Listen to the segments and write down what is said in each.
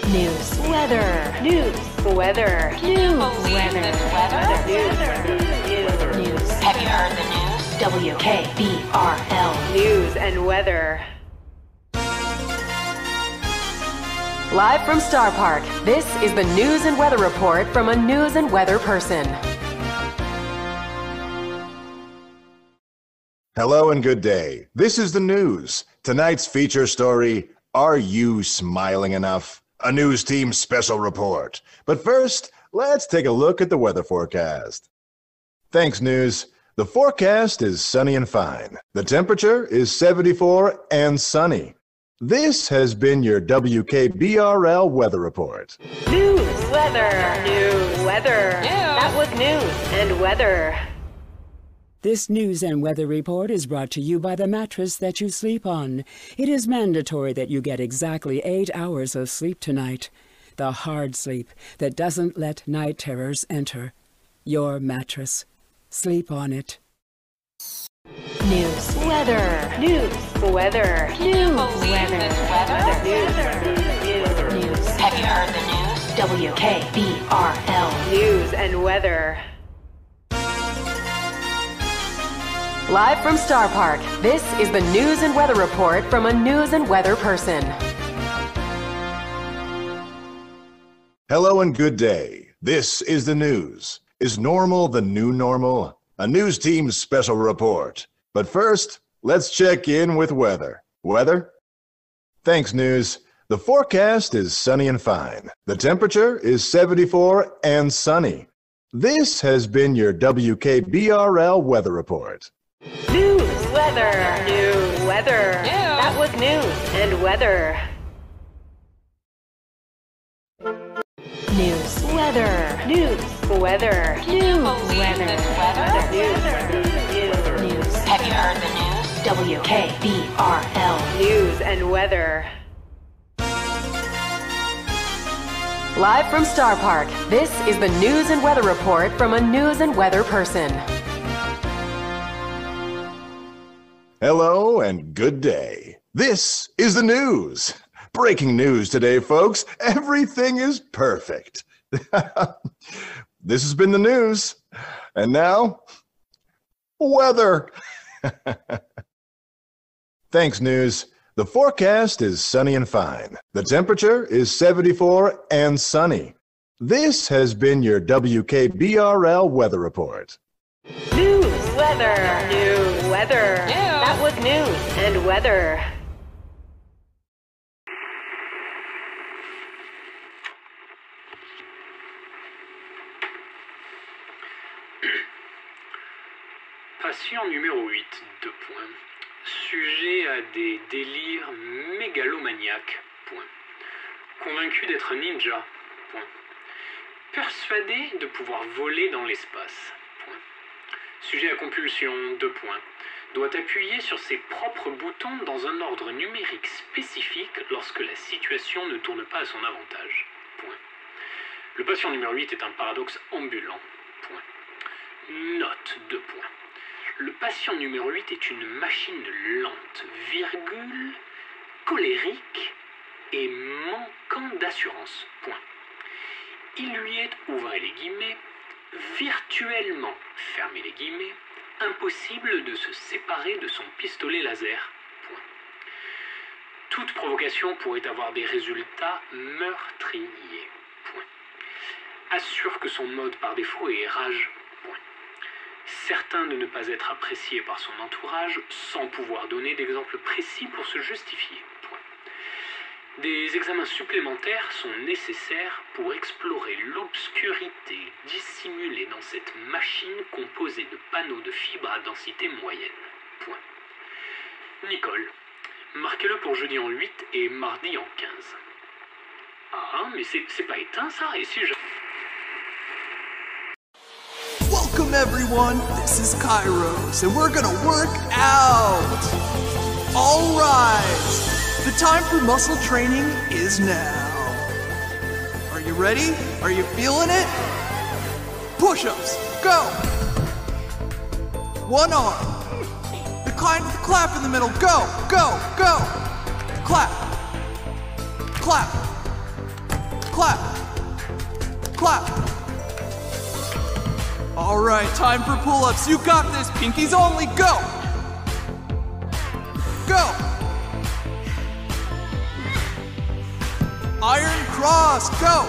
News. Weather. News. Weather. News. Weather. News. Have you heard the news? WKBRL. News and weather. Live from Star Park, this is the News and Weather Report from a news and weather person. Hello and good day. This is the news. Tonight's feature story, Are You Smiling Enough? A news team special report. But first, let's take a look at the weather forecast. Thanks, news. The forecast is sunny and fine. The temperature is 74 and sunny. This has been your WKBRL weather report. News. Weather. News. Weather. That was news and weather. This news and weather report is brought to you by the mattress that you sleep on. It is mandatory that you get exactly 8 hours of sleep tonight. The hard sleep that doesn't let night terrors enter. Your mattress. Sleep on it. News. Weather. News. Weather. News. Weather. News. Have you heard the news? WKBRL. News and weather. Live from Star Park, this is the News and Weather Report from a news and weather person. Hello and good day. This is the news. Is normal the new normal? A news team's special report. But first, let's check in with weather. Weather? Thanks, news. The forecast is sunny and fine. The temperature is 74 and sunny. This has been your WKBRL weather report. News. Weather. News. Weather. That was news and weather. News. Weather. News. Weather. News. Weather. News. Have you heard the news? WKBRL. News and weather. Live from Star Park, this is the News and Weather Report from a news and weather person. Hello and good day. This is the news. Breaking news today, folks. Everything is perfect. This has been the news. And now, weather. Thanks, news. The forecast is sunny and fine. The temperature is 74 and sunny. This has been your WKBRL weather report. News. Weather. News. Weather. That was news and weather. Patient numéro 8, 2 points. Sujet à des délires mégalomaniaques, point. Convaincu d'être ninja, point. Persuadé de pouvoir voler dans l'espace, point. Sujet à compulsion, 2 points. Doit appuyer sur ses propres boutons dans un ordre numérique spécifique lorsque la situation ne tourne pas à son avantage, point. Le patient numéro 8 est un paradoxe ambulant, point. Note, 2 points. Le patient numéro 8 est une machine lente, virgule, colérique et manquant d'assurance. Point. Il lui est, ouvrez les guillemets, virtuellement, fermez les guillemets, impossible de se séparer de son pistolet laser. Point. Toute provocation pourrait avoir des résultats meurtriers. Point. Assure que son mode par défaut est rage. Point. Certain de ne pas être apprécié par son entourage, sans pouvoir donner d'exemples précis pour se justifier. Point. Des examens supplémentaires sont nécessaires pour explorer l'obscurité dissimulée dans cette machine composée de panneaux de fibres à densité moyenne. Point. Nicole, marquez-le pour jeudi en 8 et mardi en 15. Ah, mais c'est pas éteint ça, et si je... Welcome everyone, this is Kairos, and we're gonna work out! All rise! The time for muscle training is now. Are you ready? Are you feeling it? Push-ups, go! One arm. The kind with the clap in the middle, go, go, go! Clap. Clap. Clap. Clap. All right, time for pull-ups. You got this. Pinkies only. Go. Go. Iron cross. Go.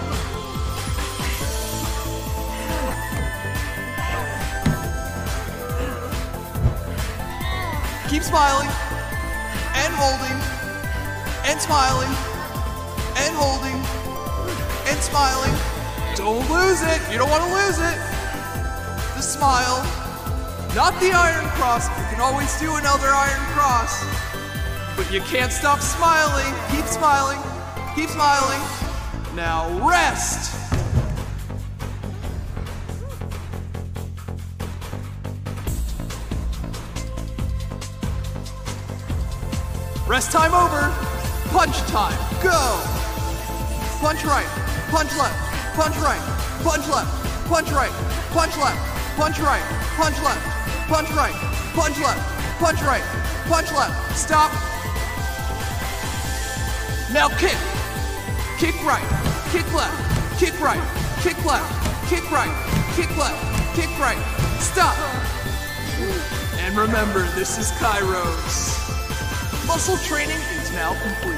Keep smiling. And holding. And smiling. And holding. And smiling. Don't lose it. You don't want to lose it. The smile. Not the iron cross. You can always do another iron cross. But you can't stop smiling. Keep smiling. Keep smiling. Now rest. Rest time over. Punch time. Go. Punch right. Punch left. Punch right. Punch left. Punch right. Punch left. Punch right. Punch left. Punch right. Punch left. Punch right. Punch left. Stop. Now kick. Kick right. Kick left. Kick right. Kick left. Kick right. Kick left. Kick right. Stop. And remember, this is Kairos. Muscle training is now complete.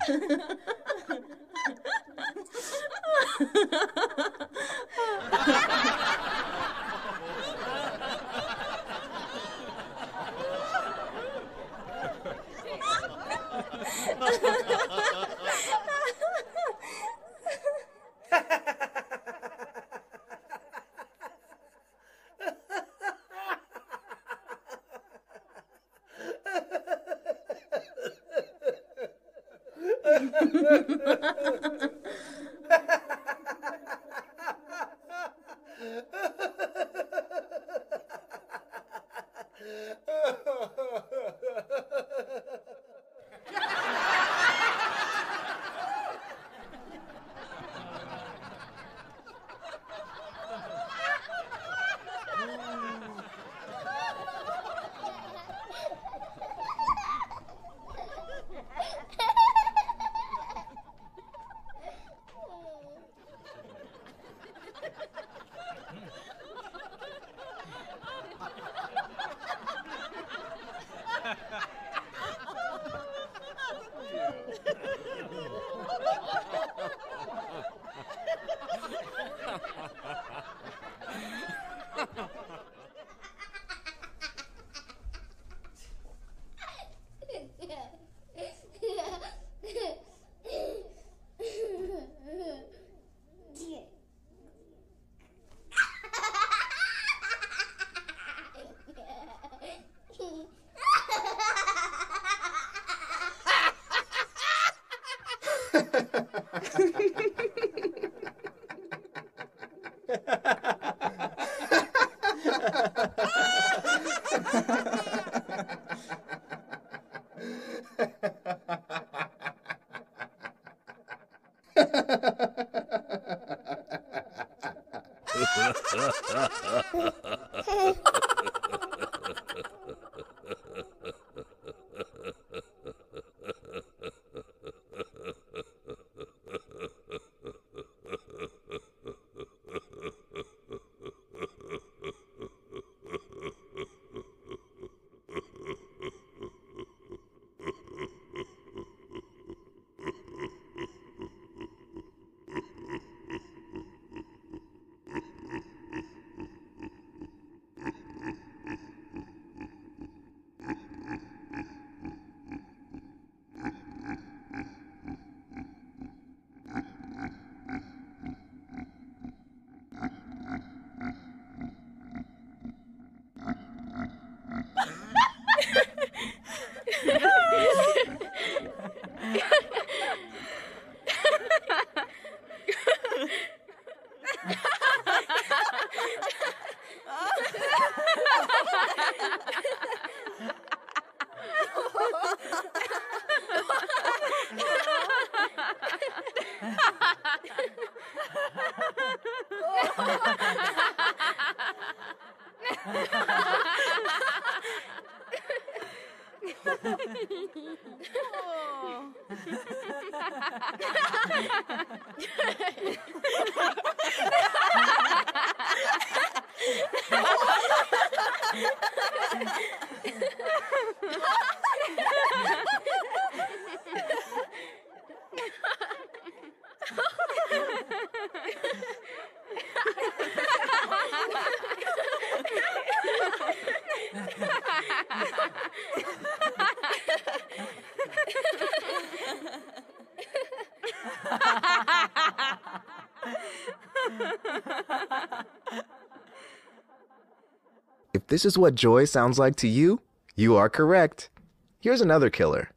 If this is what joy sounds like to you, you are correct. Here's another killer.